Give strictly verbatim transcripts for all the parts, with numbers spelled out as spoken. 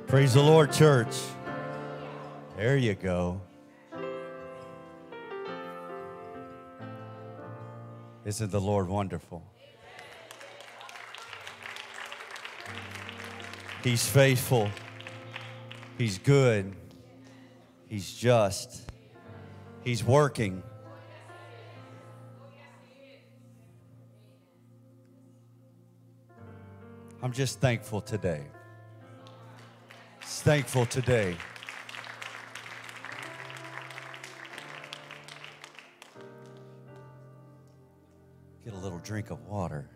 Praise the Lord, church. There you go. Isn't the Lord wonderful? He's faithful. He's good. He's just. He's working. I'm just thankful today. Thankful today. Get a little drink of water.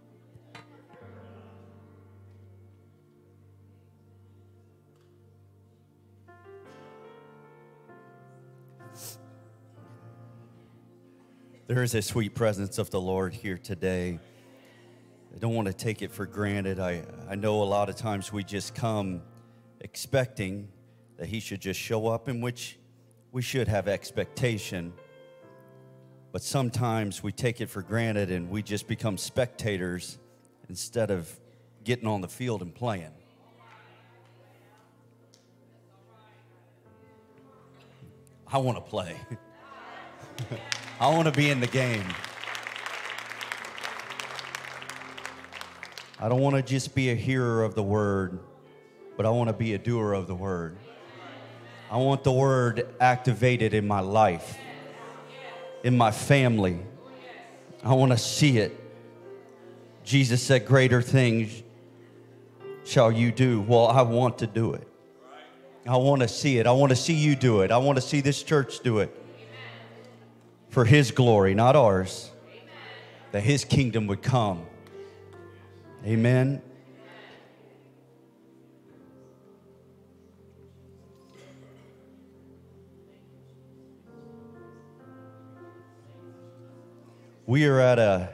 There is a sweet presence of the Lord here today. I don't want to take it for granted. I, I know a lot of times we just come expecting that he should just show up, in which we should have expectation. But sometimes we take it for granted and we just become spectators instead of getting on the field and playing. I want to play. I want to be in the game. I don't want to just be a hearer of the word, but I want to be a doer of the word. I want the word activated in my life, in my family. I want to see it. Jesus said, greater things shall you do. Well, I want to do it. I want to see it. I want to see you do it. I want to see this church do it. For his glory, not ours. That his kingdom would come. Amen. We are at a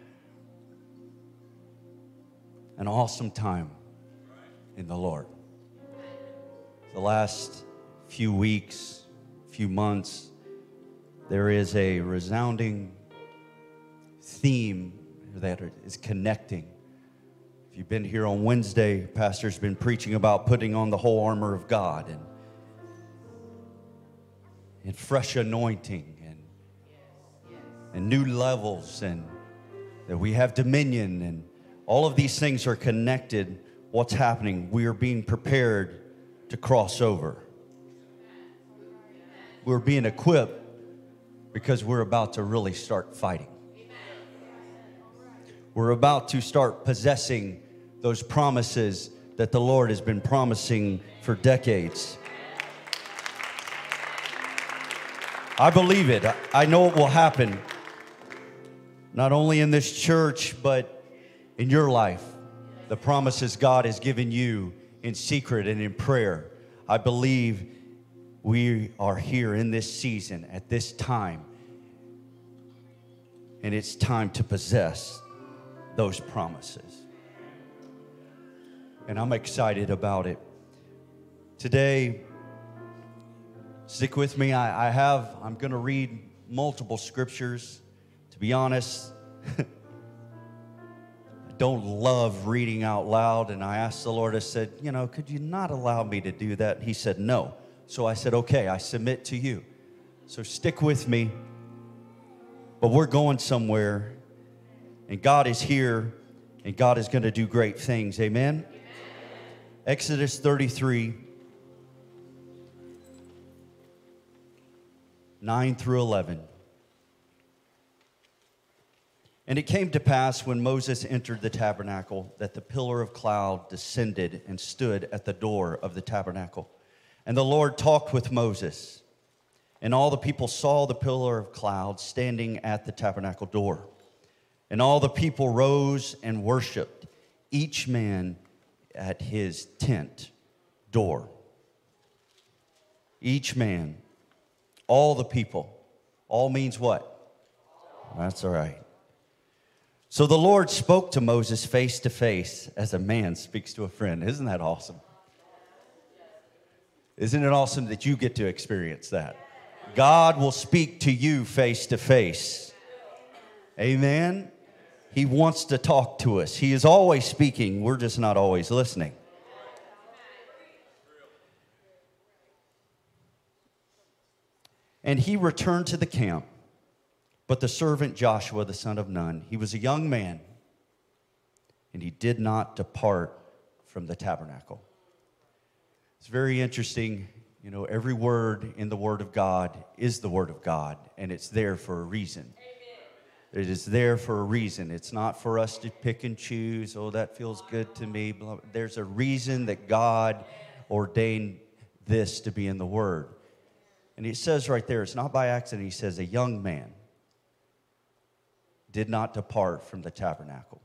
an awesome time in the Lord. The last few weeks, few months, there is a resounding theme that is connecting. If you've been here on Wednesday, Pastor's been preaching about putting on the whole armor of God and, and fresh anointing. And new levels, and that we have dominion, and all of these things are connected. What's happening? We are being prepared to cross over. We're being equipped because we're about to really start fighting. We're about to start possessing those promises that the Lord has been promising for decades. I believe it. I know it will happen. Not only in this church, but in your life. The promises God has given you in secret and in prayer. I believe we are here in this season, at this time. And it's time to possess those promises. And I'm excited about it. Today, stick with me. I, I have, I'm going to read multiple scriptures. To be honest, I don't love reading out loud. And I asked the Lord, I said, you know, could you not allow me to do that? He said, no. So I said, okay, I submit to you. So stick with me. But we're going somewhere. And God is here. And God is going to do great things. Amen? Amen. Exodus thirty-three, nine through eleven. And it came to pass when Moses entered the tabernacle that the pillar of cloud descended and stood at the door of the tabernacle. And the Lord talked with Moses. And all the people saw the pillar of cloud standing at the tabernacle door. And all the people rose and worshiped, each man at his tent door. Each man, all the people. All means what? That's all right. So the Lord spoke to Moses face to face as a man speaks to a friend. Isn't that awesome? Isn't it awesome that you get to experience that? God will speak to you face to face. Amen? He wants to talk to us. He is always speaking. We're just not always listening. And he returned to the camp. But the servant Joshua, the son of Nun, he was a young man, and he did not depart from the tabernacle. It's very interesting. You know, every word in the Word of God is the Word of God, and it's there for a reason. Amen. It is there for a reason. It's not for us to pick and choose, oh, that feels good to me. There's a reason that God ordained this to be in the Word. And he says right there, it's not by accident. He says, a young man did not depart from the tabernacle.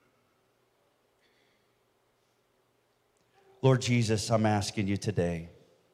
Lord Jesus, I'm asking you today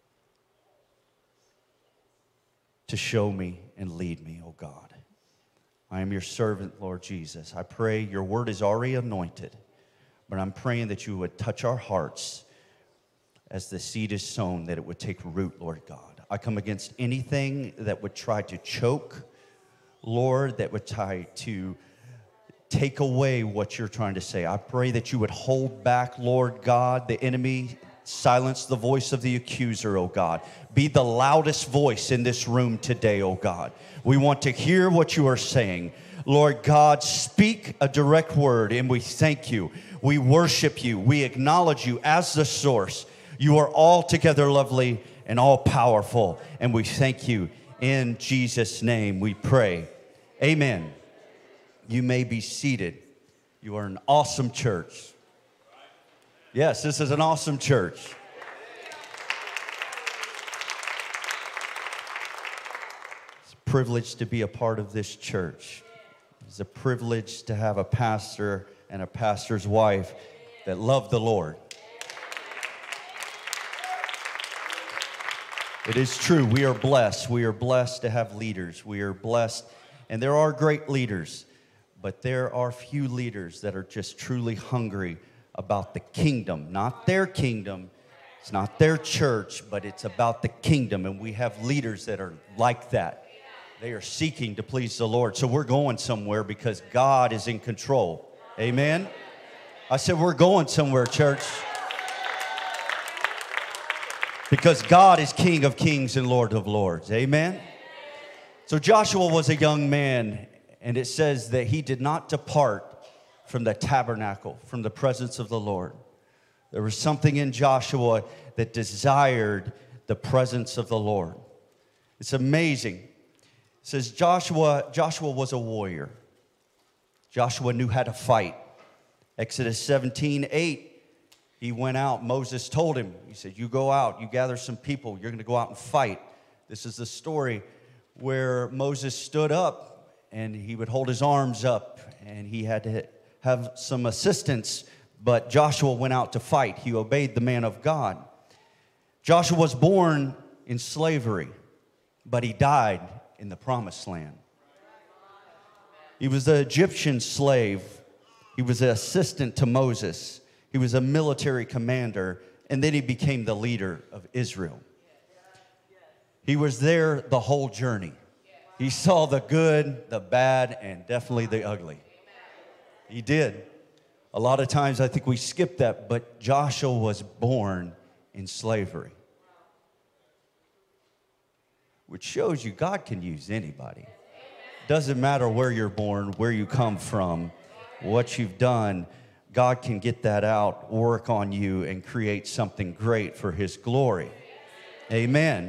to show me and lead me, oh God. I am your servant, Lord Jesus. I pray your word is already anointed, but I'm praying that you would touch our hearts as the seed is sown, that it would take root, Lord God. I come against anything that would try to choke, Lord, that would try to take away what you're trying to say. I pray that you would hold back, Lord God, the enemy. Silence the voice of the accuser, oh God. Be the loudest voice in this room today, oh God. We want to hear what you are saying. Lord God, speak a direct word, and we thank you. We worship you. We acknowledge you as the source. You are altogether lovely and all powerful, and we thank you. In Jesus' name we pray. Amen. You may be seated. You are an awesome church. Yes, this is an awesome church. It's a privilege to be a part of this church. It's a privilege to have a pastor and a pastor's wife that love the Lord. It is true. We are blessed. We are blessed to have leaders. We are blessed. And there are great leaders, but there are few leaders that are just truly hungry about the kingdom, not their kingdom. It's not their church, but it's about the kingdom. And we have leaders that are like that. They are seeking to please the Lord. So we're going somewhere because God is in control. Amen? I said we're going somewhere, church. Because God is King of kings and Lord of lords. Amen? So Joshua was a young man, and it says that he did not depart from the tabernacle, from the presence of the Lord. There was something in Joshua that desired the presence of the Lord. It's amazing. It says Joshua, Joshua was a warrior. Joshua knew how to fight. Exodus seventeen eight, he went out. Moses told him, he said, you go out, you gather some people, you're going to go out and fight. This is the story where Moses stood up and he would hold his arms up and he had to have some assistance, but Joshua went out to fight. He obeyed the man of God. Joshua was born in slavery, but he died in the promised land. He was an Egyptian slave. He was an assistant to Moses. He was a military commander, and then he became the leader of Israel. He was there the whole journey. He saw the good, the bad, and definitely the ugly. He did. A lot of times I think we skip that, but Joshua was born in slavery. Which shows you God can use anybody. Doesn't matter where you're born, where you come from, what you've done. God can get that out, work on you, and create something great for his glory. Amen.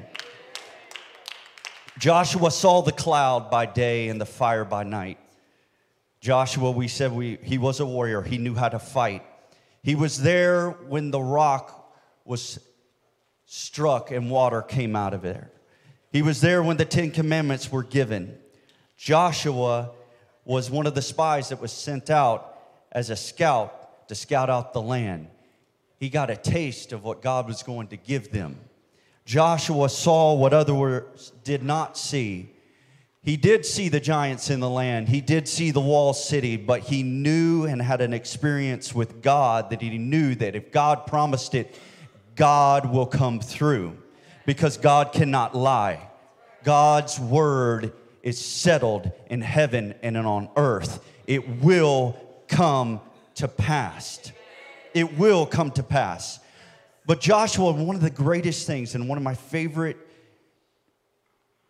Joshua saw the cloud by day and the fire by night. Joshua, we said we, he was a warrior. He knew how to fight. He was there when the rock was struck and water came out of there. He was there when the Ten Commandments were given. Joshua was one of the spies that was sent out as a scout to scout out the land. He got a taste of what God was going to give them. Joshua saw what others did not see. He did see the giants in the land. He did see the walled city, but he knew and had an experience with God that he knew that if God promised it, God will come through because God cannot lie. God's word is settled in heaven and on earth. It will come to pass. It will come to pass. But Joshua, one of the greatest things and one of my favorite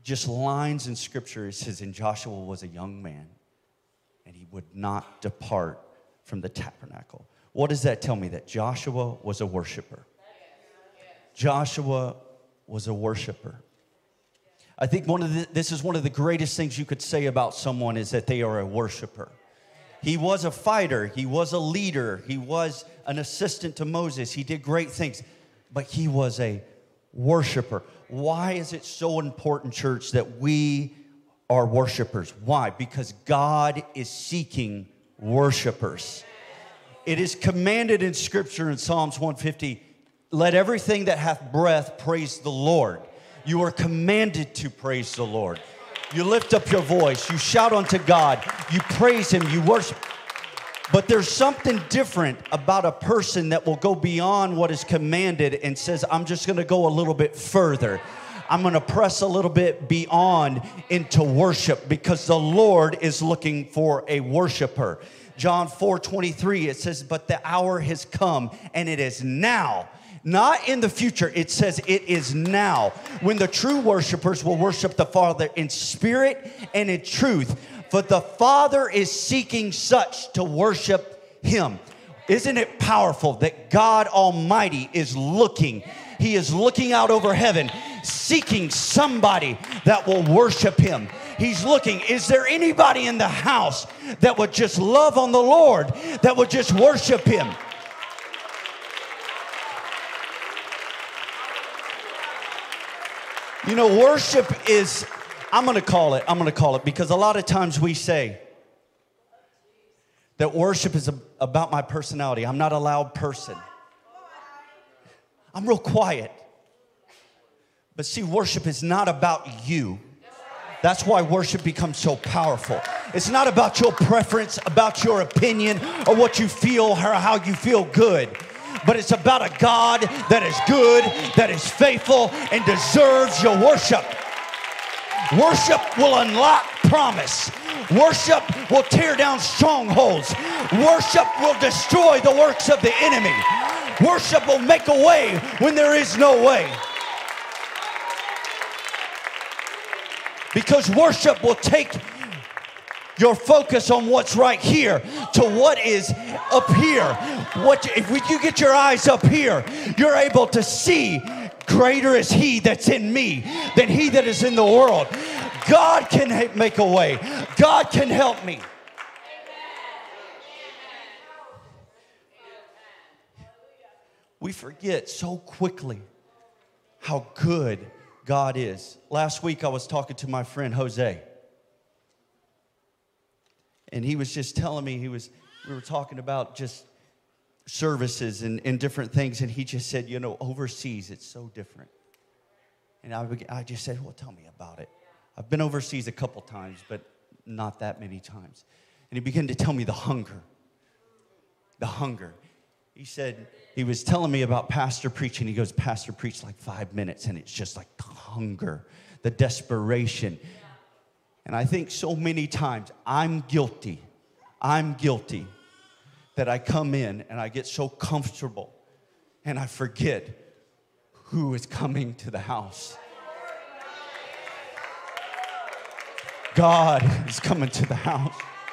just lines in Scripture. It says, and Joshua was a young man, and he would not depart from the tabernacle. What does that tell me? That Joshua was a worshiper. Joshua was a worshiper. I think one of the, this is one of the greatest things you could say about someone is that they are a worshiper. He was a fighter. He was a leader. He was an assistant to Moses. He did great things, but he was a worshiper. Why is it so important, church, that we are worshipers? Why? Because God is seeking worshipers. It is commanded in Scripture in Psalms one fifty, let everything that hath breath praise the Lord. You are commanded to praise the Lord. You lift up your voice. You shout unto God. You praise Him. You worship. But there's something different about a person that will go beyond what is commanded and says, I'm just going to go a little bit further. I'm going to press a little bit beyond into worship because the Lord is looking for a worshiper. John four twenty-three, it says, but the hour has come and it is now. Not in the future. It says it is now when the true worshipers will worship the Father in spirit and in truth. For the Father is seeking such to worship Him. Isn't it powerful that God Almighty is looking? He is looking out over heaven, seeking somebody that will worship Him. He's looking, is there anybody in the house that would just love on the Lord, that would just worship Him? You know, worship is, I'm going to call it, I'm going to call it, because a lot of times we say that worship is about my personality. I'm not a loud person. I'm real quiet. But see, worship is not about you. That's why worship becomes so powerful. It's not about your preference, about your opinion, or what you feel, or how you feel good. But it's about a God that is good, that is faithful, and deserves your worship. Worship will unlock promise. Worship will tear down strongholds. Worship will destroy the works of the enemy. Worship will make a way when there is no way. Because worship will take your focus on what's right here to what is up here. What if you get your eyes up here, you're able to see greater is He that's in me than he that is in the world. God can make a way. God can help me. We forget so quickly how good God is. Last week I was talking to my friend Jose. And he was just telling me, he was, we were talking about just services and, and different things. And he just said, you know, overseas, it's so different. And I, I just said, well, tell me about it. I've been overseas a couple times, but not that many times. And he began to tell me the hunger. The hunger. He said, he was telling me about pastor preaching. He goes, pastor preached like five minutes, and it's just like the hunger, the desperation. And I think so many times I'm guilty. I'm guilty that I come in and I get so comfortable and I forget who is coming to the house. God is coming to the house.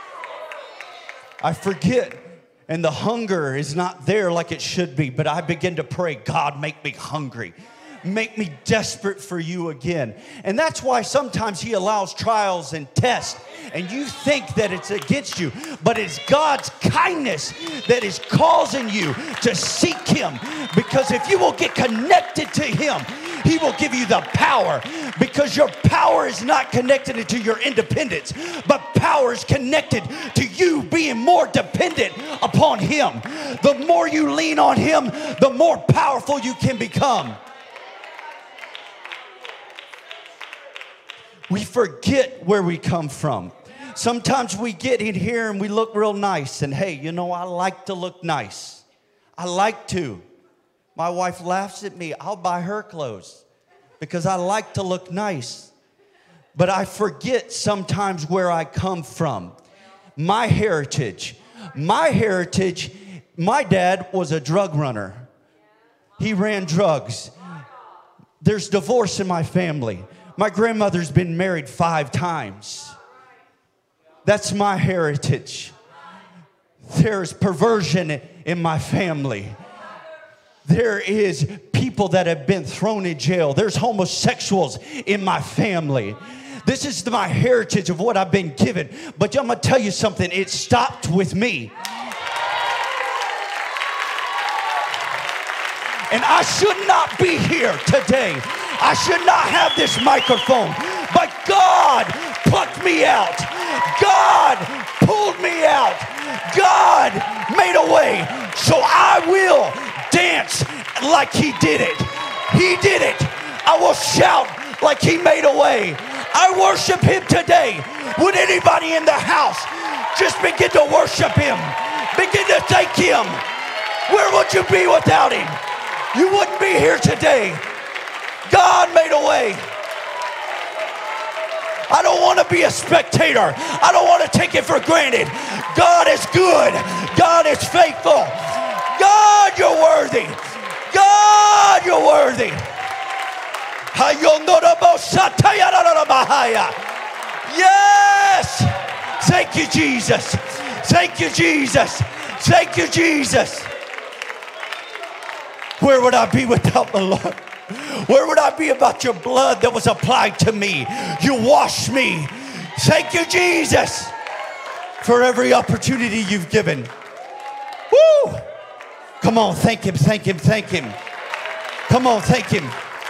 I forget, and the hunger is not there like it should be, but I begin to pray, God, make me hungry. Make me desperate for you again. And that's why sometimes He allows trials and tests, and you think that it's against you, but it's God's kindness that is causing you to seek Him. Because if you will get connected to Him, He will give you the power, because your power is not connected to your independence, but power is connected to you being more dependent upon Him. The more you lean on Him, the more powerful you can become. We forget where we come from. Sometimes we get in here and we look real nice. And hey, you know, I like to look nice. I like to. My wife laughs at me. I'll buy her clothes because I like to look nice. But I forget sometimes where I come from. My heritage. My heritage, my dad was a drug runner. He ran drugs. There's divorce in my family. My grandmother's been married five times. That's my heritage. There's perversion in my family. There is people that have been thrown in jail. There's homosexuals in my family. This is my heritage of what I've been given. But I'm going to tell you something. It stopped with me. And I should not be here today. I should not have this microphone. But God plucked me out. God pulled me out. God made a way. So I will dance like he did it. He did it. I will shout like he made a way. I worship him today. Would anybody in the house just begin to worship him? Begin to thank him. Where would you be without him? You wouldn't be here today. God made a way. I don't want to be a spectator. I don't want to take it for granted. God is good. God is faithful. God, you're worthy. God, you're worthy. Yes. Thank you, Jesus. Thank you, Jesus. Thank you, Jesus. Where would I be without the Lord? Where would I be about your blood that was applied to me? You washed me. Thank you, Jesus, for every opportunity you've given. Woo! Come on, thank him, thank him, thank him. Come on, thank him.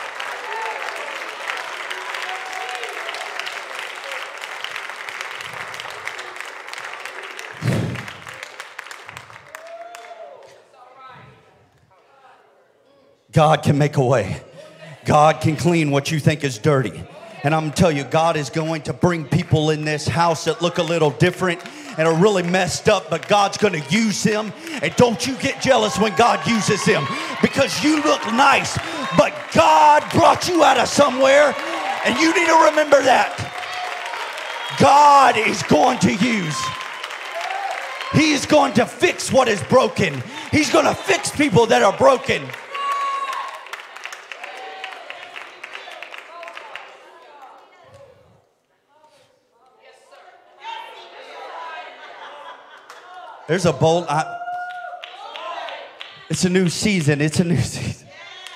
God can make a way. God can clean what you think is dirty. And I'm going to tell you, God is going to bring people in this house that look a little different and are really messed up, but God's going to use them. And don't you get jealous when God uses them, because you look nice, but God brought you out of somewhere, and you need to remember that. God is going to use. He is going to fix what is broken. He's going to fix people that are broken. There's a bold, I, it's a new season. It's a new season.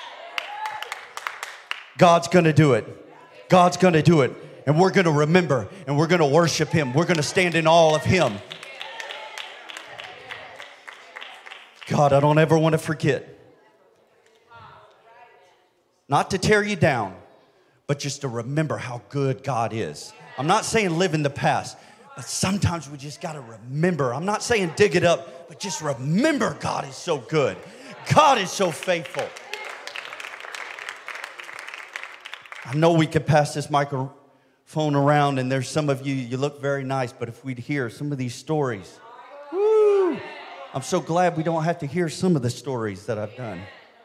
God's going to do it. God's going to do it. And we're going to remember, and we're going to worship him. We're going to stand in awe of him. God, I don't ever want to forget. Not to tear you down, but just to remember how good God is. I'm not saying live in the past. But sometimes we just got to remember. I'm not saying dig it up, but just remember God is so good. God is so faithful. I know we could pass this microphone around, and there's some of you, you look very nice, but if we'd hear some of these stories, woo, I'm so glad we don't have to hear some of the stories that I've done.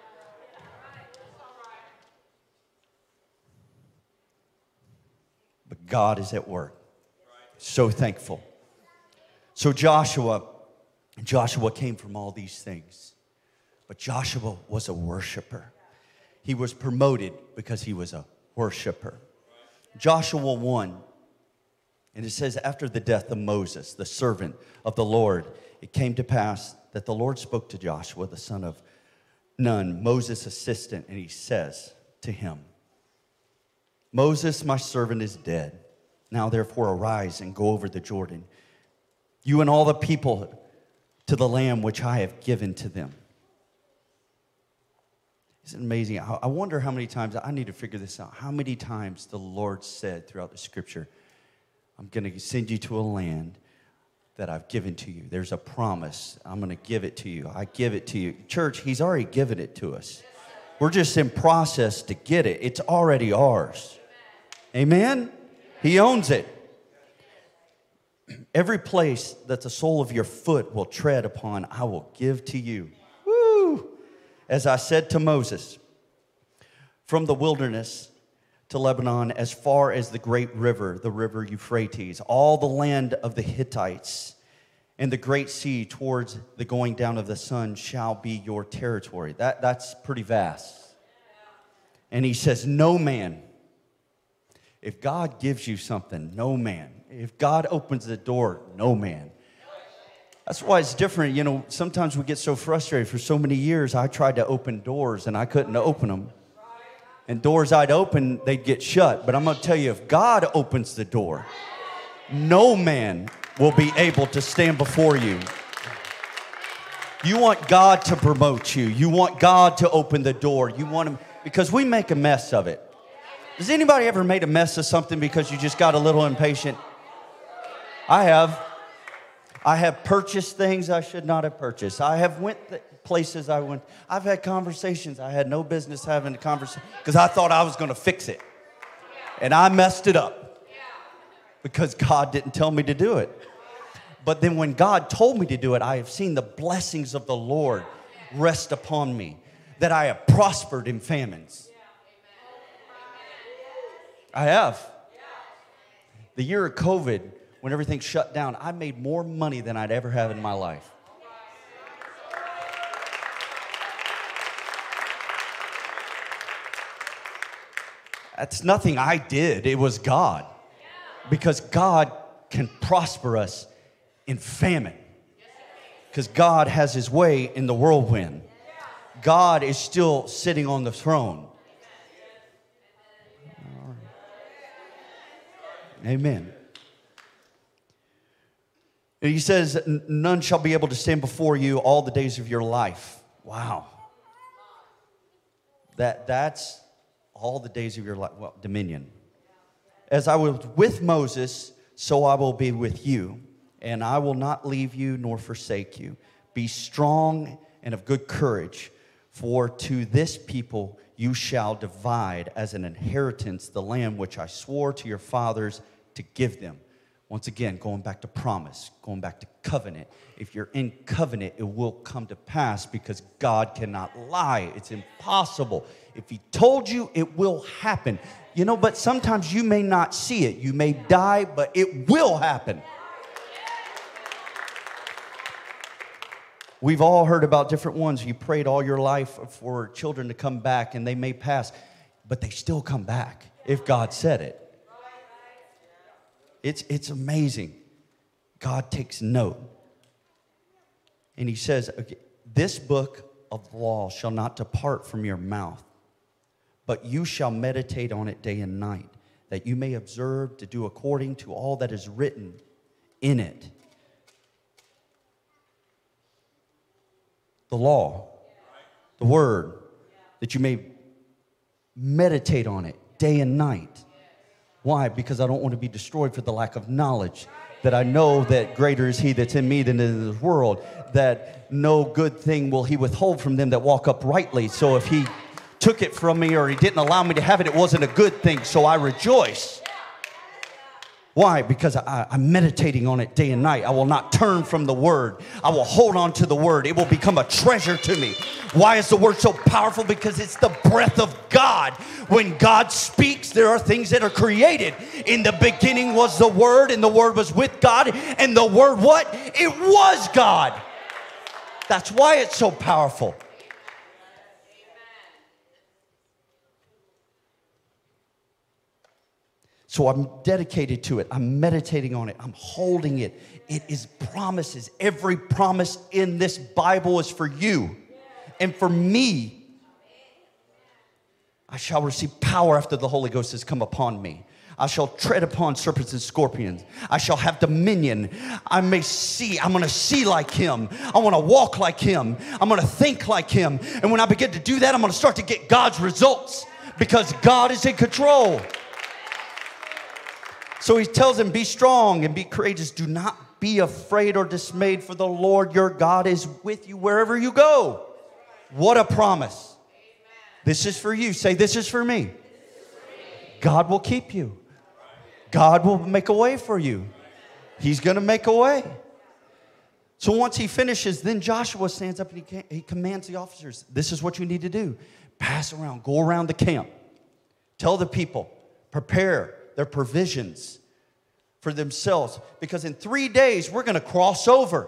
But God is at work. So thankful. So Joshua, Joshua came from all these things. But Joshua was a worshiper. He was promoted because he was a worshiper. Joshua one, and it says, after the death of Moses, the servant of the Lord, it came to pass that the Lord spoke to Joshua, the son of Nun, Moses' assistant, and he says to him, Moses, my servant, is dead. Now, therefore, arise and go over the Jordan, you and all the people, to the land which I have given to them. Isn't it amazing? I wonder how many times, I need to figure this out, how many times the Lord said throughout the scripture, I'm going to send you to a land that I've given to you. There's a promise. I'm going to give it to you. I give it to you. Church, he's already given it to us. We're just in process to get it. It's already ours. Amen? He owns it. Every place that the sole of your foot will tread upon, I will give to you. Woo! As I said to Moses, from the wilderness to Lebanon, as far as the great river, the river Euphrates, all the land of the Hittites and the great sea towards the going down of the sun shall be your territory. That, that's pretty vast. And he says, no man If God gives you something, no man. If God opens the door, no man. That's why it's different. You know, sometimes we get so frustrated. For so many years, I tried to open doors and I couldn't open them. And doors I'd open, they'd get shut. But I'm going to tell you, if God opens the door, no man will be able to stand before you. You want God to promote you. You want God to open the door. You want him, because we make a mess of it. Has anybody ever made a mess of something because you just got a little impatient? I have. I have purchased things I should not have purchased. I have went th- places I went. I've had conversations I had no business having a conversation because I thought I was going to fix it. And I messed it up because God didn't tell me to do it. But then when God told me to do it, I have seen the blessings of the Lord rest upon me, that I have prospered in famines. I have. The year of COVID, when everything shut down, I made more money than I'd ever have in my life. That's nothing I did. It was God. Because God can prosper us in famine. Because God has his way in the whirlwind. God is still sitting on the throne. Amen. And he says, none shall be able to stand before you all the days of your life. Wow. That, that's all the days of your life. Well, dominion. As I was with Moses, so I will be with you, and I will not leave you nor forsake you. Be strong and of good courage, for to this people you shall divide as an inheritance the land which I swore to your fathers to give them. Once again, going back to promise, going back to covenant. If you're in covenant, it will come to pass because God cannot lie. It's impossible. If he told you, it will happen. You know, but sometimes you may not see it. You may die, but it will happen. We've all heard about different ones. You prayed all your life for children to come back, and they may pass, but they still come back if God said it. It's, it's amazing. God takes note. And he says, okay, this book of law shall not depart from your mouth, but you shall meditate on it day and night, that you may observe to do according to all that is written in it. The law, the word, that you may meditate on it day and night. Why? Because I don't want to be destroyed for the lack of knowledge. That I know that greater is he that's in me than in this world. That no good thing will he withhold from them that walk uprightly. So if he took it from me or he didn't allow me to have it, it wasn't a good thing. So I rejoice. Why? Because I, I'm meditating on it day and night. I will not turn from the word. I will hold on to the word. It will become a treasure to me. Why is the word so powerful? Because it's the breath of God. When God speaks, there are things that are created. In the beginning was the word, and the word was with God, and the word what? It was God. That's why it's so powerful. So I'm dedicated to it. I'm meditating on it. I'm holding it. It is promises. Every promise in this Bible is for you and for me. I shall receive power after the Holy Ghost has come upon me. I shall tread upon serpents and scorpions. I shall have dominion. I may see. I'm going to see like him. I want to walk like him. I'm going to think like him. And when I begin to do that, I'm going to start to get God's results because God is in control. So he tells them, be strong and be courageous. Do not be afraid or dismayed, for the Lord your God is with you wherever you go. What a promise. This is for you. Say, this is for me. God will keep you. God will make a way for you. He's going to make a way. So once he finishes, then Joshua stands up and he, he commands the officers, this is what you need to do. Pass around, go around the camp. Tell the people, prepare their provisions for themselves. Because in three days, we're going to cross over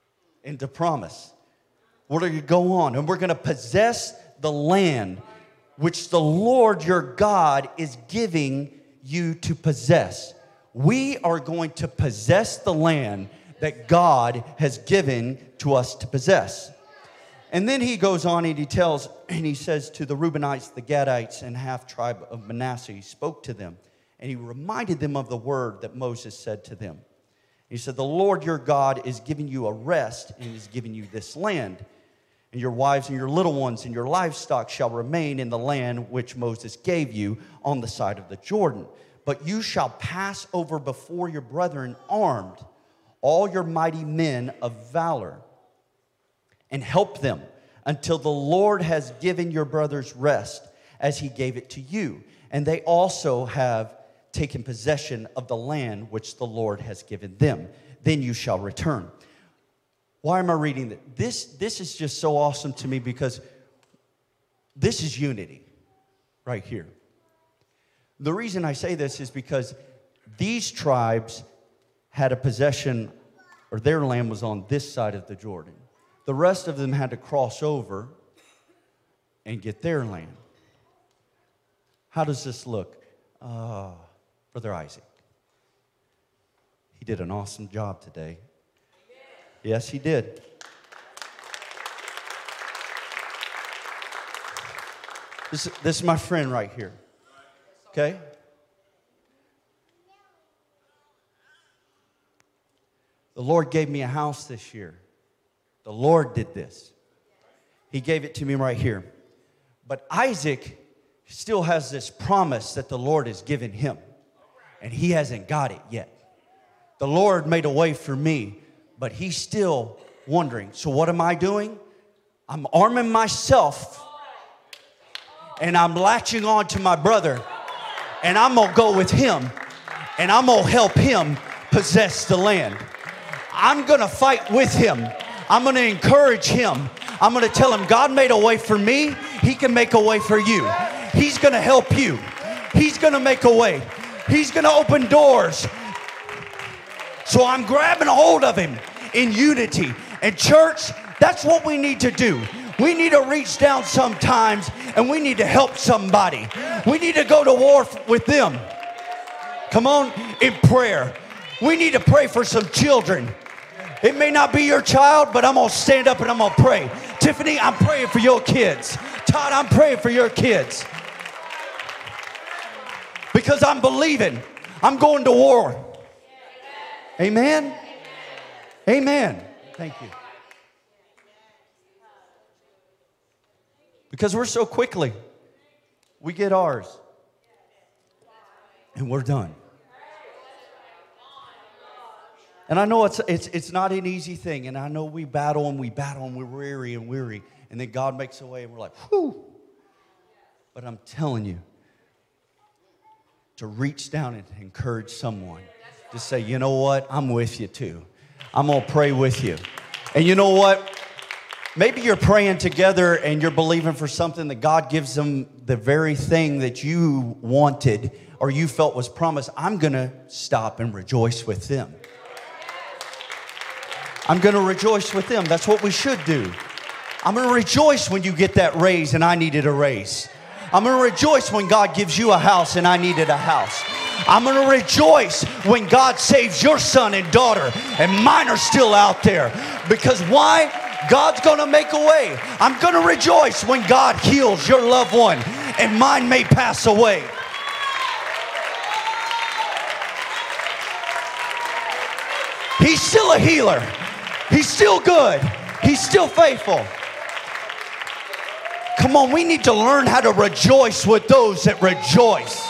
into promise. We're going to go on, and we're going to possess the land which the Lord your God is giving you to possess. We are going to possess the land that God has given to us to possess. And then he goes on and he tells, and he says to the Reubenites, the Gadites, and half tribe of Manasseh, he spoke to them, and he reminded them of the word that Moses said to them. He said, the Lord your God is giving you a rest and is giving you this land. And your wives and your little ones and your livestock shall remain in the land which Moses gave you on the side of the Jordan. But you shall pass over before your brethren armed, all your mighty men of valor, and help them until the Lord has given your brothers rest as he gave it to you. And they also have taken possession of the land which the Lord has given them. Then you shall return. Why am I reading that? This, this is just so awesome to me because this is unity right here. The reason I say this is because these tribes had a possession, or their land was on this side of the Jordan. The rest of them had to cross over and get their land. How does this look? Uh, Brother Isaac. He did an awesome job today. Yes, he did. This, this is my friend right here. Okay? The Lord gave me a house this year. The Lord did this. He gave it to me right here. But Isaac still has this promise that the Lord has given him. And he hasn't got it yet. The Lord made a way for me, but he's still wondering. So what am I doing? I'm arming myself, and I'm latching on to my brother, and I'm going to go with him, and I'm going to help him possess the land. I'm going to fight with him. I'm going to encourage him. I'm going to tell him, God made a way for me. He can make a way for you. He's going to help you. He's going to make a way. He's going to open doors. So I'm grabbing a hold of him in unity. And church, that's what we need to do. We need to reach down sometimes and we need to help somebody. We need to go to war with them. Come on, in prayer. We need to pray for some children. It may not be your child, but I'm going to stand up and I'm going to pray. Tiffany, I'm praying for your kids. Todd, I'm praying for your kids. Because I'm believing. I'm going to war. Amen? Amen. Thank you. Because we're so quickly, we get ours. And we're done. And I know it's, it's, it's not an easy thing. And I know we battle and we battle and we're weary and weary. And then God makes a way and we're like, whew. But I'm telling you, to reach down and encourage someone. To say, you know what? I'm with you too. I'm going to pray with you. And you know what? Maybe you're praying together and you're believing for something that God gives them the very thing that you wanted or you felt was promised. I'm going to stop and rejoice with them. I'm going to rejoice with them. That's what we should do. I'm going to rejoice when you get that raise and I needed a raise. I'm going to rejoice when God gives you a house and I needed a house. I'm going to rejoice when God saves your son and daughter and mine are still out there. Because why? God's going to make a way. I'm going to rejoice when God heals your loved one and mine may pass away. He's still a healer. He's still good. He's still faithful. Come on, we need to learn how to rejoice with those that rejoice.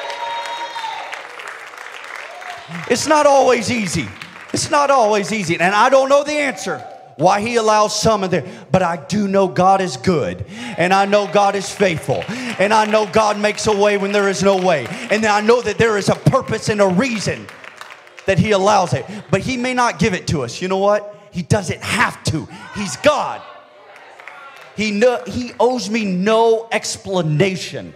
It's not always easy. It's not always easy. And I don't know the answer why he allows some of there. But I do know God is good. And I know God is faithful. And I know God makes a way when there is no way. And I know that there is a purpose and a reason that he allows it. But he may not give it to us. You know what? He doesn't have to. He's God. He, no, he owes me no explanation.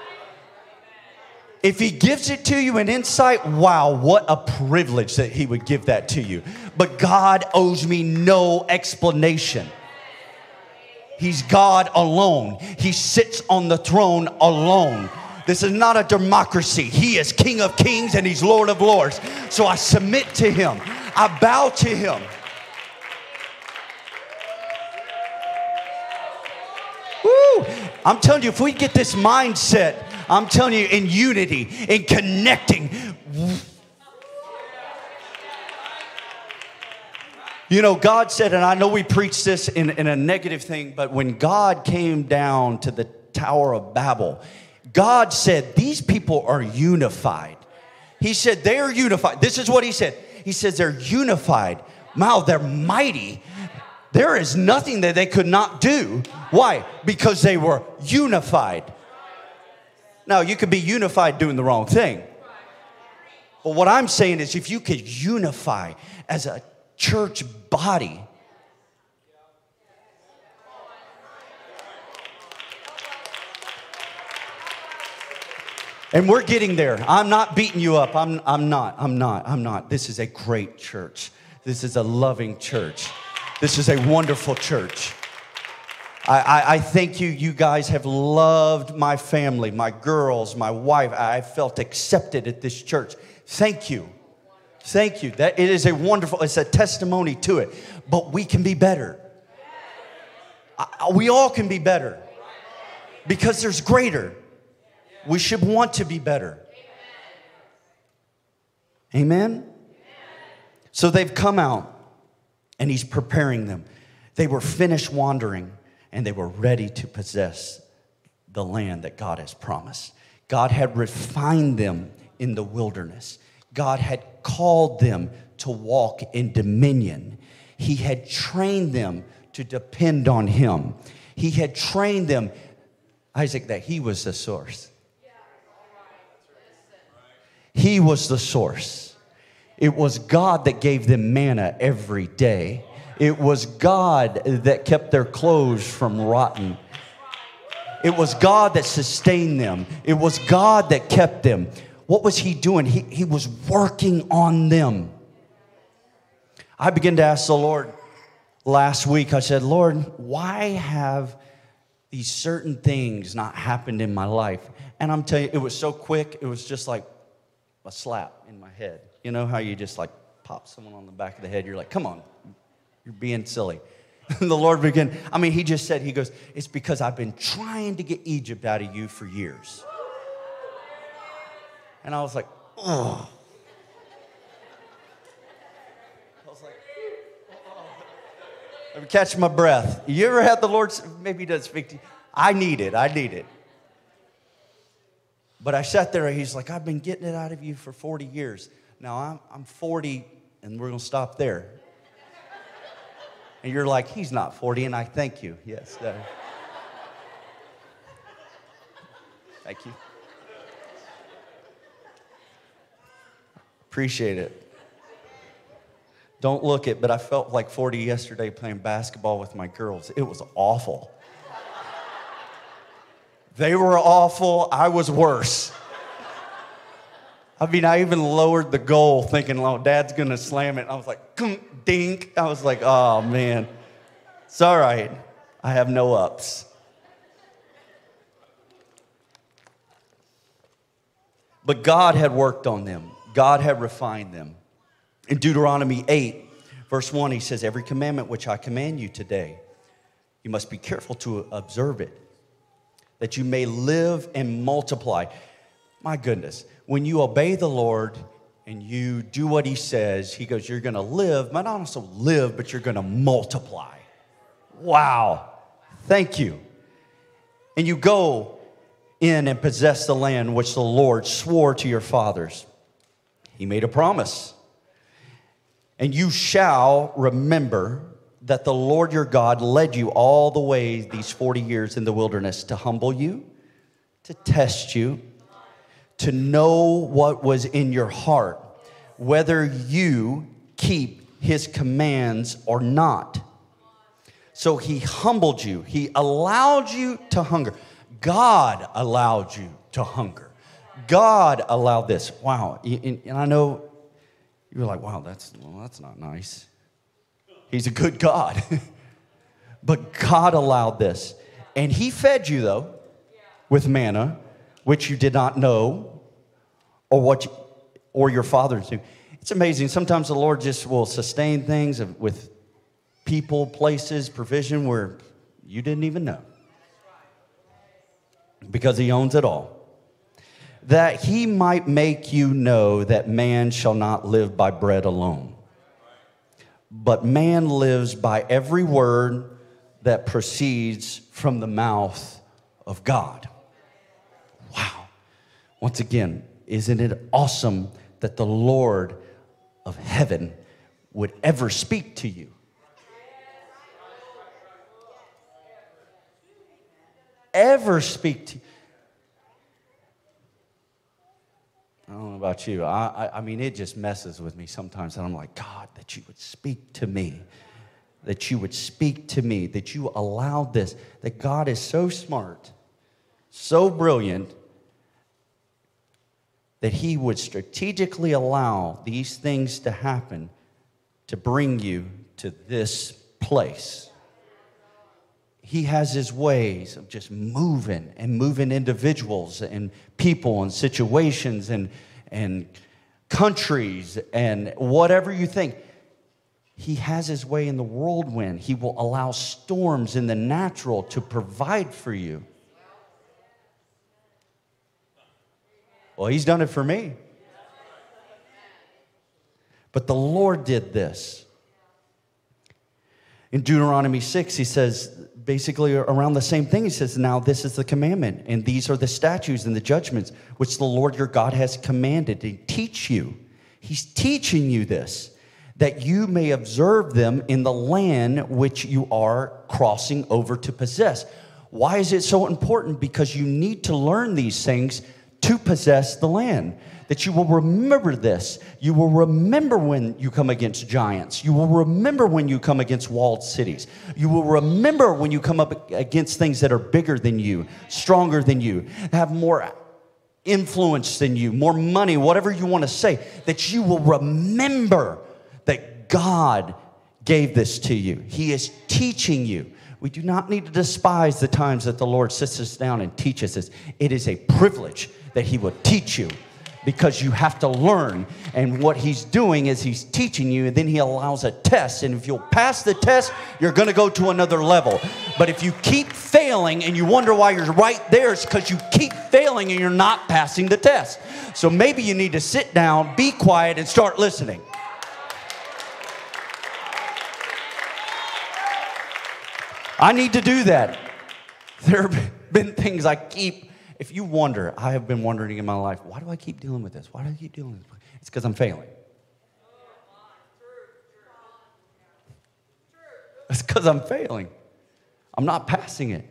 If he gives it to you in insight, wow, what a privilege that he would give that to you. But God owes me no explanation. He's God alone. He sits on the throne alone. This is not a democracy. He is King of kings and He's Lord of lords. So I submit to Him. I bow to Him. Woo! I'm telling you, if we get this mindset, I'm telling you, in unity, in connecting. You know, God said, and I know we preach this in, in a negative thing, but when God came down to the Tower of Babel, God said, these people are unified. He said, they're unified. This is what He said. He says, they're unified. Wow, they're mighty. There is nothing that they could not do. Why? Because they were unified. Now, you could be unified doing the wrong thing. But what I'm saying is, if you could unify as a church body, and we're getting there. I'm not beating you up. I'm, I'm not. I'm not. I'm not. This is a great church. This is a loving church. This is a wonderful church. I, I, I thank you. You guys have loved my family, my girls, my wife. I felt accepted at this church. Thank you. Thank you. That it is a wonderful, it's a testimony to it. But we can be better. I, we all can be better. Because there's greater. We should want to be better. Amen? So they've come out and He's preparing them. They were finished wandering and they were ready to possess the land that God has promised. God had refined them in the wilderness. God had called them to walk in dominion. He had trained them to depend on Him. He had trained them, Isaac, that He was the source. He was the source. It was God that gave them manna every day. It was God that kept their clothes from rotting. It was God that sustained them. It was God that kept them. What was He doing? He, he was working on them. I began to ask the Lord last week. I said, Lord, why have these certain things not happened in my life? And I'm telling you, it was so quick. It was just like a slap in my head. You know how you just like pop someone on the back of the head? You're like, come on, you're being silly. And the Lord began, I mean, He just said, He goes, it's because I've been trying to get Egypt out of you for years. And I was like, oh. I was like, oh. Let me catch my breath. You ever had the Lord, maybe He doesn't speak to you. I need it, I need it. But I sat there, He's like, I've been getting it out of you for forty years. Now, I'm, I'm forty, and we're going to stop there. And you're like, He's not forty, and I thank you. Yes. Uh, thank you. Appreciate it. Don't look it, but I felt like forty yesterday playing basketball with my girls. It was awful. They were awful. I was worse. I mean, I even lowered the goal thinking, oh, Dad's going to slam it. I was like, dink. I was like, oh, man. It's all right. I have no ups. But God had worked on them. God had refined them. In Deuteronomy eight, verse one, He says, every commandment which I command you today, you must be careful to observe it, that you may live and multiply. My goodness, when you obey the Lord and you do what He says, He goes, you're going to live, but not also live, but you're going to multiply. Wow. Thank you. And you go in and possess the land which the Lord swore to your fathers. He made a promise. And you shall remember that the Lord your God led you all the way these forty years in the wilderness to humble you, to test you, to know what was in your heart, whether you keep His commands or not. So He humbled you. He allowed you to hunger. God allowed you to hunger. God allowed this. Wow. And I know you're like, wow, that's, well, that's not nice. He's a good God. But God allowed this. And he fed you, though, with manna, which you did not know, or what you, or your fathers knew. It's amazing. Sometimes the Lord just will sustain things with people, places, provision where you didn't even know. Because he owns it all. That he might make you know that man shall not live by bread alone, but man lives by every word that proceeds from the mouth of God. Wow. Once again, isn't it awesome that the Lord of heaven would ever speak to you? Ever speak to you? I don't know about you. I, I, I mean, it just messes with me sometimes. And I'm like, God, that you would speak to me. That you would speak to me. That you allowed this. That God is so smart, so brilliant, that he would strategically allow these things to happen to bring you to this place. He has his ways of just moving and moving individuals and people and situations and, and countries and whatever you think. He has his way in the whirlwind. He will allow storms in the natural to provide for you. Well, he's done it for me. But the Lord did this. In Deuteronomy six, he says, basically around the same thing. He says, now this is the commandment, and these are the statutes and the judgments which the Lord your God has commanded to teach you. He's teaching you this, that you may observe them in the land which you are crossing over to possess. Why is it so important? Because you need to learn these things to possess the land. That you will remember this. You will remember when you come against giants. You will remember when you come against walled cities. You will remember when you come up against things that are bigger than you, stronger than you, have more influence than you, more money, whatever you want to say. That you will remember that God gave this to you. He is teaching you. We do not need to despise the times that the Lord sits us down and teaches us. It is a privilege that he will teach you, because you have to learn. And what he's doing is he's teaching you, and then he allows a test. And if you'll pass the test, you're going to go to another level. But if you keep failing and you wonder why you're right there, it's because you keep failing and you're not passing the test. So maybe you need to sit down, be quiet, and start listening. I need to do that. There have been things I keep. If you wonder, I have been wondering in my life, why do I keep dealing with this? Why do I keep dealing with this? It's because I'm failing. It's because I'm failing. I'm not passing it.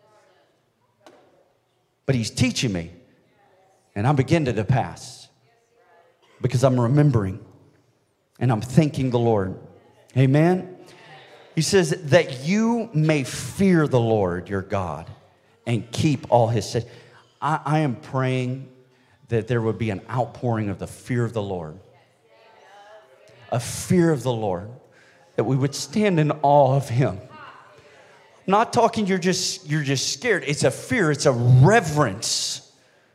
But he's teaching me. And I'm beginning to pass. Because I'm remembering. And I'm thanking the Lord. Amen? He says that you may fear the Lord your God and keep all his statutes. I, I am praying that there would be an outpouring of the fear of the Lord. A fear of the Lord. That we would stand in awe of him. I'm not talking you're just, you're just scared. It's a fear. It's a reverence.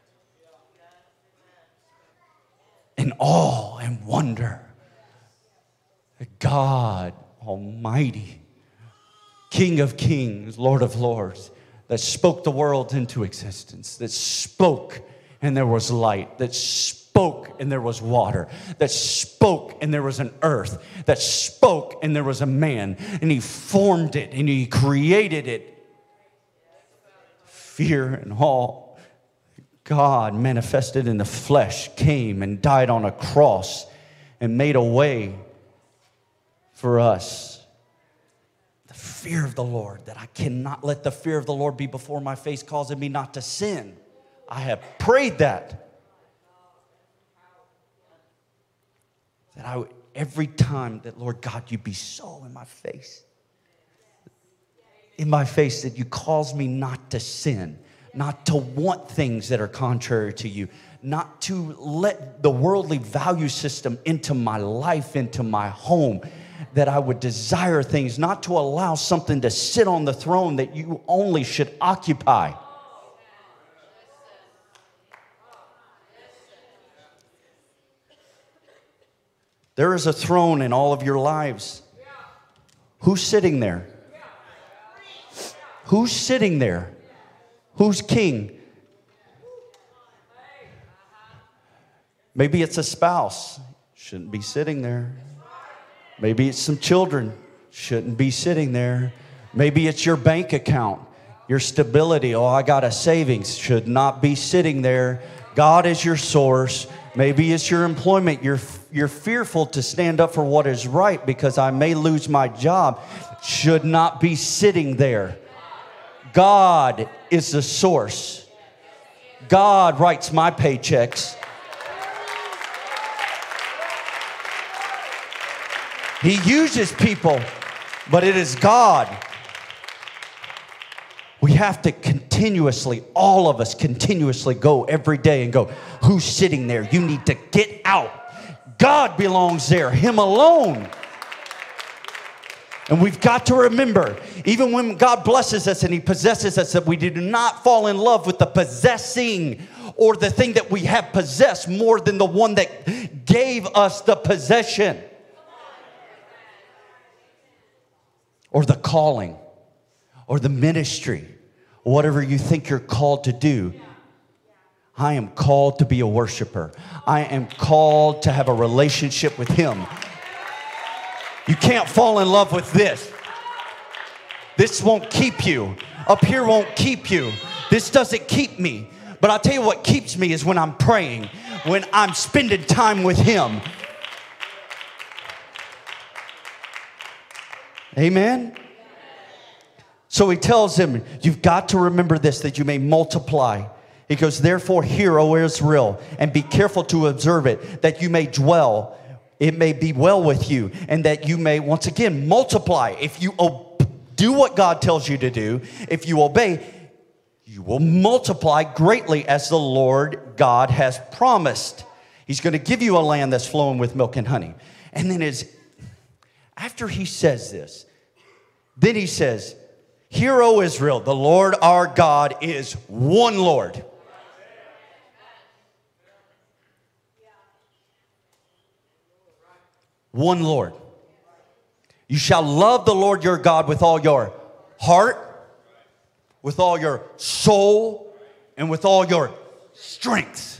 And awe and wonder. God Almighty, King of kings, Lord of lords, that spoke the world into existence, that spoke and there was light, that spoke and there was water, that spoke and there was an earth, that spoke and there was a man, and he formed it and he created it. Fear and awe. God manifested in the flesh, came and died on a cross and made a way for us. The fear of the Lord, that I cannot let the fear of the Lord be before my face, causing me not to sin. I have prayed that. That I would, every time that, Lord God, you be so in my face. In my face, that you cause me not to sin, not to want things that are contrary to you, not to let the worldly value system into my life, into my home, that I would desire things, not to allow something to sit on the throne that you only should occupy. There is a throne in all of your lives. Who's sitting there? Who's sitting there? Who's king? Maybe it's a spouse. Shouldn't be sitting there. Maybe it's some children. Shouldn't be sitting there. Maybe it's your bank account, your stability. Oh, I got a savings. Should not be sitting there. God is your source. Maybe it's your employment. You're, you're fearful to stand up for what is right because I may lose my job. Should not be sitting there. God is the source. God writes my paychecks. He uses people, but it is God. We have to continuously, all of us continuously go every day and go, who's sitting there? You need to get out. God belongs there, Him alone. And we've got to remember, even when God blesses us and He possesses us, that we do not fall in love with the possessing or the thing that we have possessed more than the one that gave us the possession. Or the calling, or the ministry, whatever you think you're called to do. I am called to be a worshiper. I am called to have a relationship with Him. You can't fall in love with this. This won't keep you. Up here won't keep you. This doesn't keep me. But I'll tell you what keeps me is when I'm praying, when I'm spending time with Him. Amen? So He tells him, you've got to remember this, that you may multiply. He goes, therefore hear, O Israel, and be careful to observe it, that you may dwell, it may be well with you, and that you may, once again, multiply. If you do what God tells you to do, if you obey, you will multiply greatly as the Lord God has promised. He's going to give you a land that's flowing with milk and honey. And then as after He says this, then He says, hear, O Israel, the Lord our God is one Lord. One Lord. You shall love the Lord your God with all your heart, with all your soul, and with all your strength.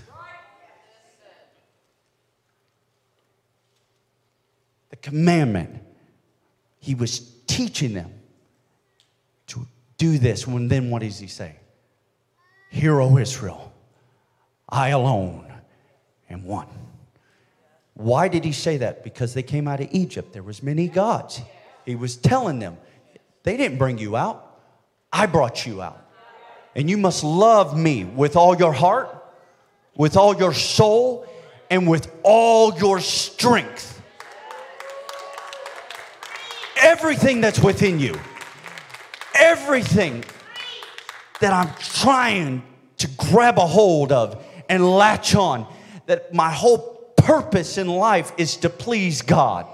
The commandment. He was teaching them to do this. When then what does He say? Hear, O Israel, I alone am one. Why did He say that? Because they came out of Egypt. There was many gods. He was telling them, they didn't bring you out. I brought you out. And you must love me with all your heart, with all your soul, and with all your strength. Everything that's within you. Everything that I'm trying to grab a hold of and latch on. That my whole purpose in life is to please God.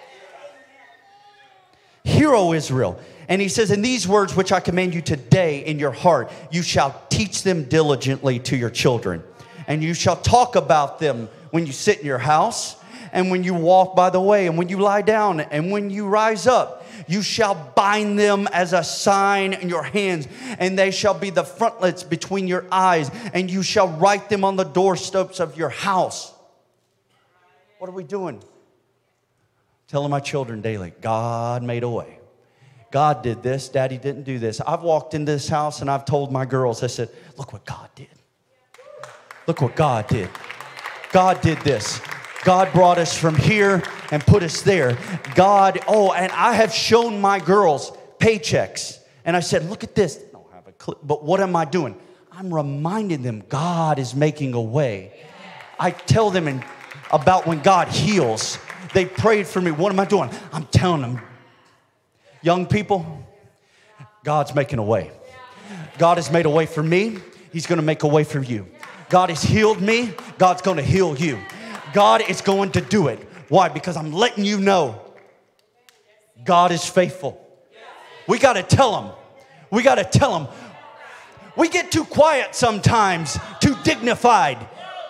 Hear, O Israel. And He says, in these words which I command you today in your heart, you shall teach them diligently to your children. And you shall talk about them when you sit in your house, and when you walk by the way, and when you lie down, and when you rise up. You shall bind them as a sign in your hands, and they shall be the frontlets between your eyes, and you shall write them on the doorsteps of your house. What are we doing? Telling my children daily, God made a way. God did this. Daddy didn't do this. I've walked in this house and I've told my girls, I said, look what God did. Look what God did. God did this. God brought us from here and put us there. God, oh, and I have shown my girls paychecks. And I said, look at this. I don't have a clip, but what am I doing? I'm reminding them God is making a way. I tell them in, about when God heals. They prayed for me. What am I doing? I'm telling them, young people, God's making a way. God has made a way for me. He's going to make a way for you. God has healed me. God's going to heal you. God is going to do it. Why? Because I'm letting you know God is faithful. We got to tell them. We got to tell them. We get too quiet sometimes, too dignified.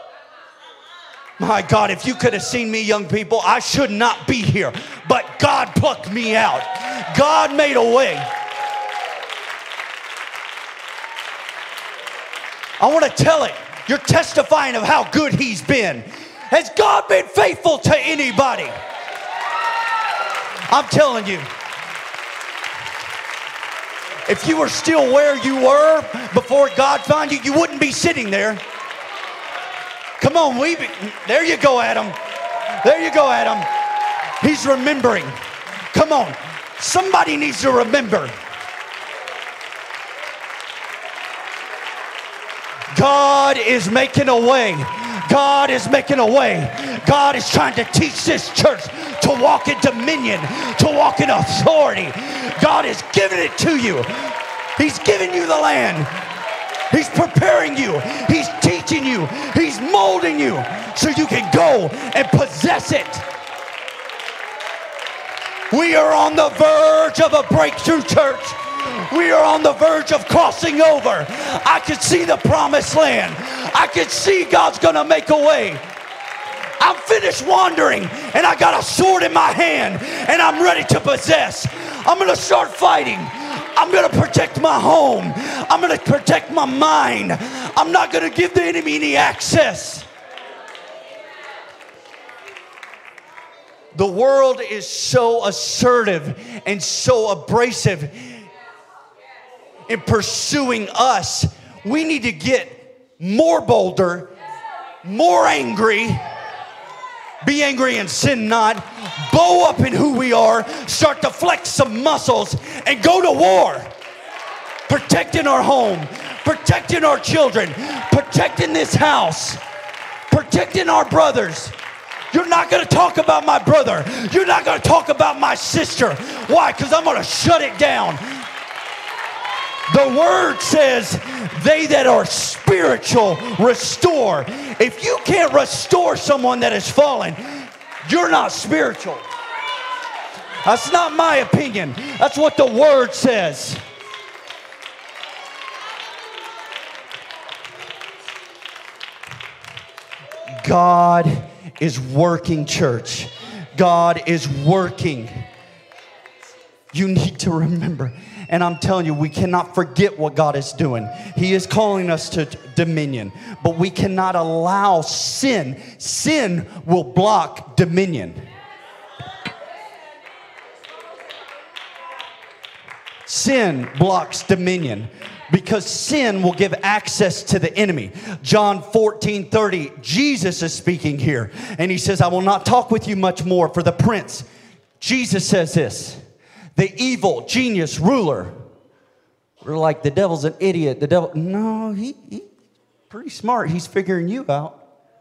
My God, if you could have seen me, young people, I should not be here. But God plucked me out. God made a way. I want to tell it. You're testifying of how good He's been. Has God been faithful to anybody? I'm telling you. If you were still where you were before God found you, you wouldn't be sitting there. Come on, we be, there you go, Adam. There you go, Adam. He's remembering. Come on. Somebody needs to remember. God is making a way. God is making a way. God is trying to teach this church to walk in dominion, to walk in authority. God is giving it to you. He's giving you the land. He's preparing you. He's teaching you. He's molding you so you can go and possess it. We are on the verge of a breakthrough, church. We are on the verge of crossing over. I can see the promised land. I can see God's going to make a way. I'm finished wandering, and I got a sword in my hand, and I'm ready to possess. I'm going to start fighting. I'm going to protect my home. I'm going to protect my mind. I'm not going to give the enemy any access. The world is so assertive and so abrasive in pursuing us. We need to get more bolder, more angry. Be angry and sin not. Bow up in who we are. Start to flex some muscles and go to war. Protecting our home. Protecting our children. Protecting this house. Protecting our brothers. You're not going to talk about my brother. You're not going to talk about my sister. Why? Because I'm going to shut it down. The word says, they that are spiritual restore. If you can't restore someone that has fallen, you're not spiritual. That's not my opinion. That's what the word says. God is working, church. God is working. You need to remember. And I'm telling you, we cannot forget what God is doing. He is calling us to dominion. But we cannot allow sin. Sin will block dominion. Sin blocks dominion. Because sin will give access to the enemy. John fourteen thirty, Jesus is speaking here. And he says, I will not talk with you much more, for the prince. Jesus says this. The evil genius ruler. We're like, the devil's an idiot. The devil, no, he, he's pretty smart. He's figuring you out.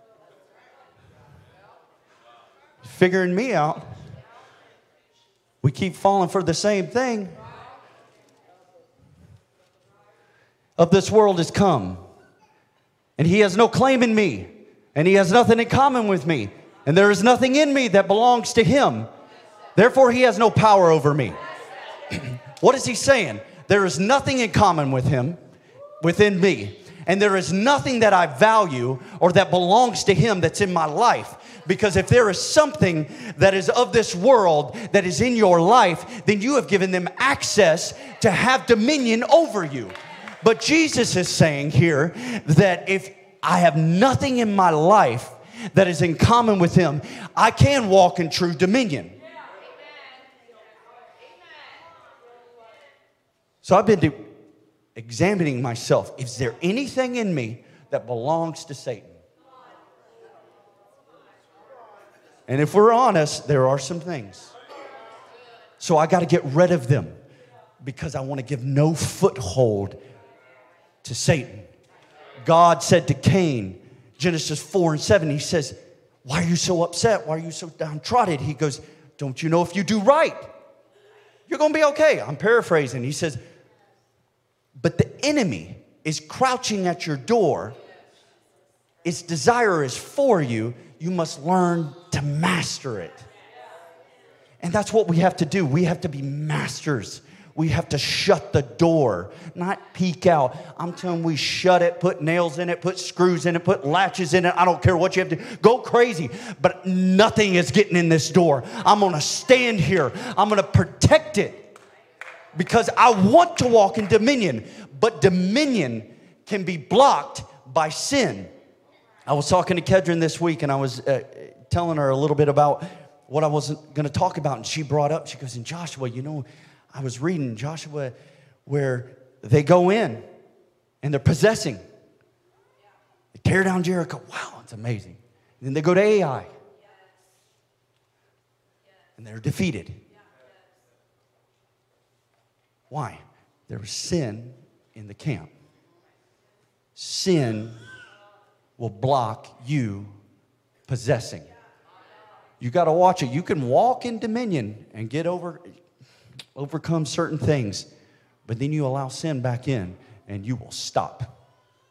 Figuring me out. We keep falling for the same thing. Of this world is come. And he has no claim in me. And he has nothing in common with me. And there is nothing in me that belongs to him. Therefore, he has no power over me. What is he saying? There is nothing in common with him, within me. And there is nothing that I value or that belongs to him that's in my life. Because if there is something that is of this world that is in your life, then you have given them access to have dominion over you. But Jesus is saying here that if I have nothing in my life that is in common with him, I can walk in true dominion. So I've been examining myself. Is there anything in me that belongs to Satan? And if we're honest, there are some things. So I got to get rid of them because I want to give no foothold to Satan. God said to Cain, Genesis four and seven, he says, why are you so upset? Why are you so downtrodden? He goes, don't you know if you do right, you're going to be okay? I'm paraphrasing. He says, but the enemy is crouching at your door. Its desire is for you. You must learn to master it. And that's what we have to do. We have to be masters. We have to shut the door, not peek out. I'm telling you, we shut it, put nails in it, put screws in it, put latches in it. I don't care what you have to do. Go crazy. But nothing is getting in this door. I'm going to stand here. I'm going to protect it because I want to walk in dominion. But dominion can be blocked by sin. I was talking to Kedron this week, and I was uh, telling her a little bit about what I wasn't going to talk about. And she brought up, she goes, in Joshua, you know, I was reading Joshua where they go in and they're possessing. They tear down Jericho. Wow, it's amazing. And then they go to Ai. And they're defeated. Why? There was sin in the camp. Sin will block you possessing. You got to watch it. You can walk in dominion and get over, overcome certain things, but then you allow sin back in and you will stop.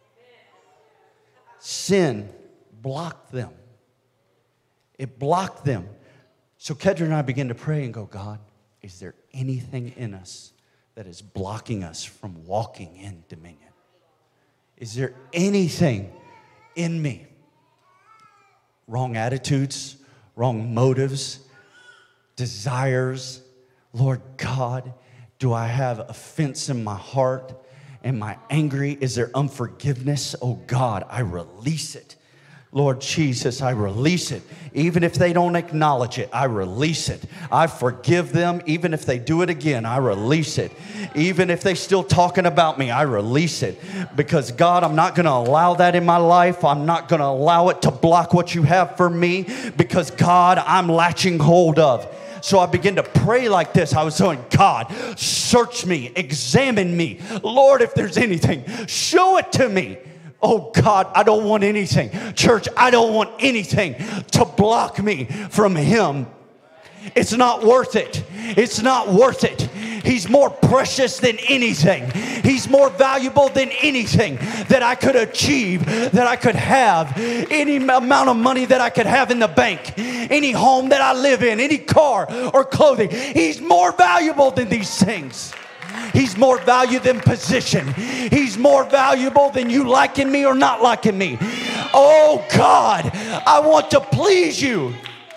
Sin blocked them. It blocked them. So Kedron and I began to pray and go, God, is there anything in us that is blocking us from walking in dominion? Is there anything in me? Wrong attitudes, wrong motives, desires. Lord God, do I have offense in my heart? Am I angry? Is there unforgiveness? Oh God, I release it. Lord Jesus, I release it. Even if they don't acknowledge it, I release it. I forgive them. Even if they do it again, I release it. Even if they're still talking about me, I release it. Because God, I'm not going to allow that in my life. I'm not going to allow it to block what you have for me. Because God, I'm latching hold of. So I began to pray like this. I was saying, God, search me, examine me. Lord, if there's anything, show it to me. Oh God, I don't want anything. Church, I don't want anything to block me from Him. It's not worth it. It's not worth it. He's more precious than anything. He's more valuable than anything that I could achieve, that I could have, any amount of money that I could have in the bank, any home that I live in, any car or clothing. He's more valuable than these things. He's more valuable than position. He's more valuable than you liking me or not liking me. Oh God, I want to please you.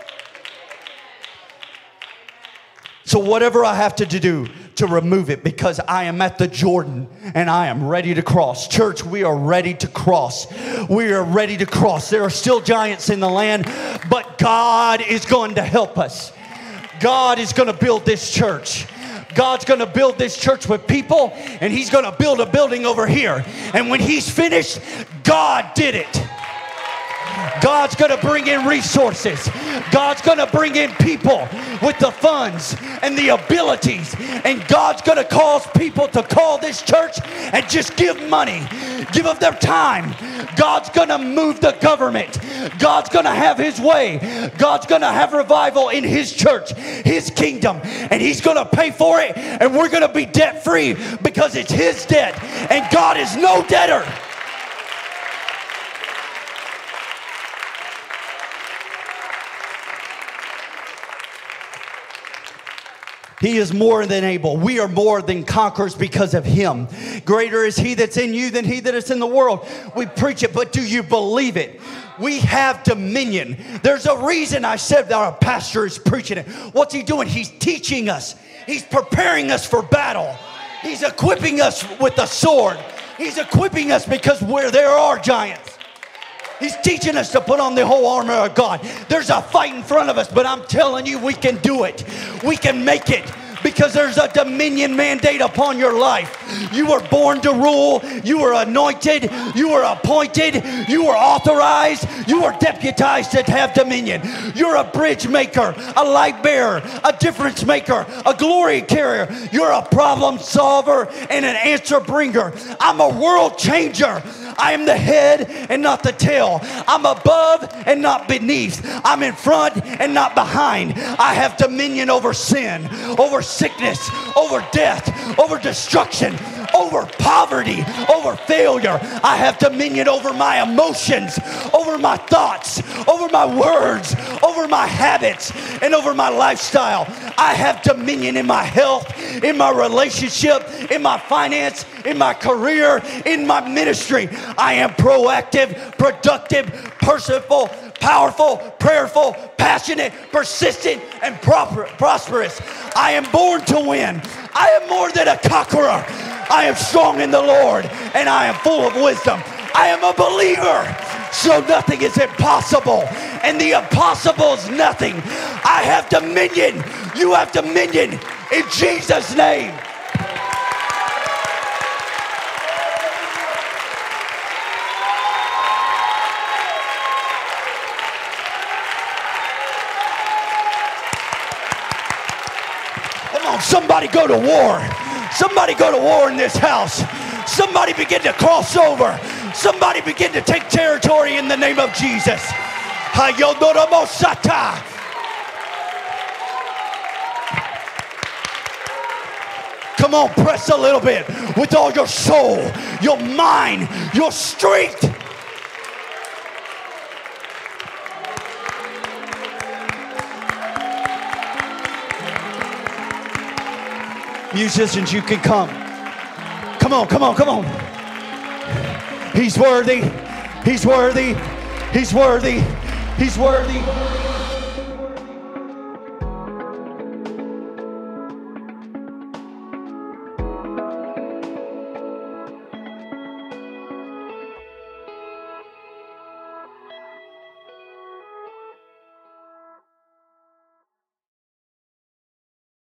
So whatever I have to do to remove it, because I am at the Jordan and I am ready to cross. Church, we are ready to cross. We are ready to cross. There are still giants in the land, but God is going to help us. God is going to build this church. God's going to build this church with people, and He's going to build a building over here. And when He's finished, God did it. God's going to bring in resources. God's going to bring in people with the funds and the abilities. And God's going to cause people to call this church and just give money, give of their time. God's going to move the government. God's going to have His way. God's going to have revival in His church, His kingdom. And He's going to pay for it. And we're going to be debt free because it's His debt. And God is no debtor. He is more than able. We are more than conquerors because of Him. Greater is He that's in you than he that is in the world. We preach it, but do you believe it? We have dominion. There's a reason I said that our pastor is preaching it. What's he doing? He's teaching us. He's preparing us for battle. He's equipping us with a sword. He's equipping us because where there are giants. He's teaching us to put on the whole armor of God. There's a fight in front of us, but I'm telling you, we can do it. We can make it. Because there's a dominion mandate upon your life. You were born to rule. You were anointed. You were appointed. You were authorized. You were deputized to have dominion. You're a bridge maker, a light bearer, a difference maker, a glory carrier. You're a problem solver and an answer bringer. I'm a world changer. I am the head and not the tail. I'm above and not beneath. I'm in front and not behind. I have dominion over sin, over sickness, over death, over destruction, over poverty, over failure. I have dominion over my emotions, over my thoughts, over my words, over my habits, and over my lifestyle. I have dominion in my health, in my relationship, in my finance, in my career, in my ministry. I am proactive, productive, perseverable, powerful, prayerful, passionate, persistent, and proper, prosperous. I am born to win. I am more than a conqueror. I am strong in the Lord, and I am full of wisdom. I am a believer, so nothing is impossible, and the impossible is nothing. I have dominion. You have dominion in Jesus' name. Come on, somebody go to war. Somebody go to war in this house. Somebody begin to cross over. Somebody begin to take territory in the name of Jesus. Come on, press a little bit with all your soul, your mind, your strength. Musicians, you can come. Come on, come on, come on. He's worthy. He's worthy. He's worthy. He's worthy.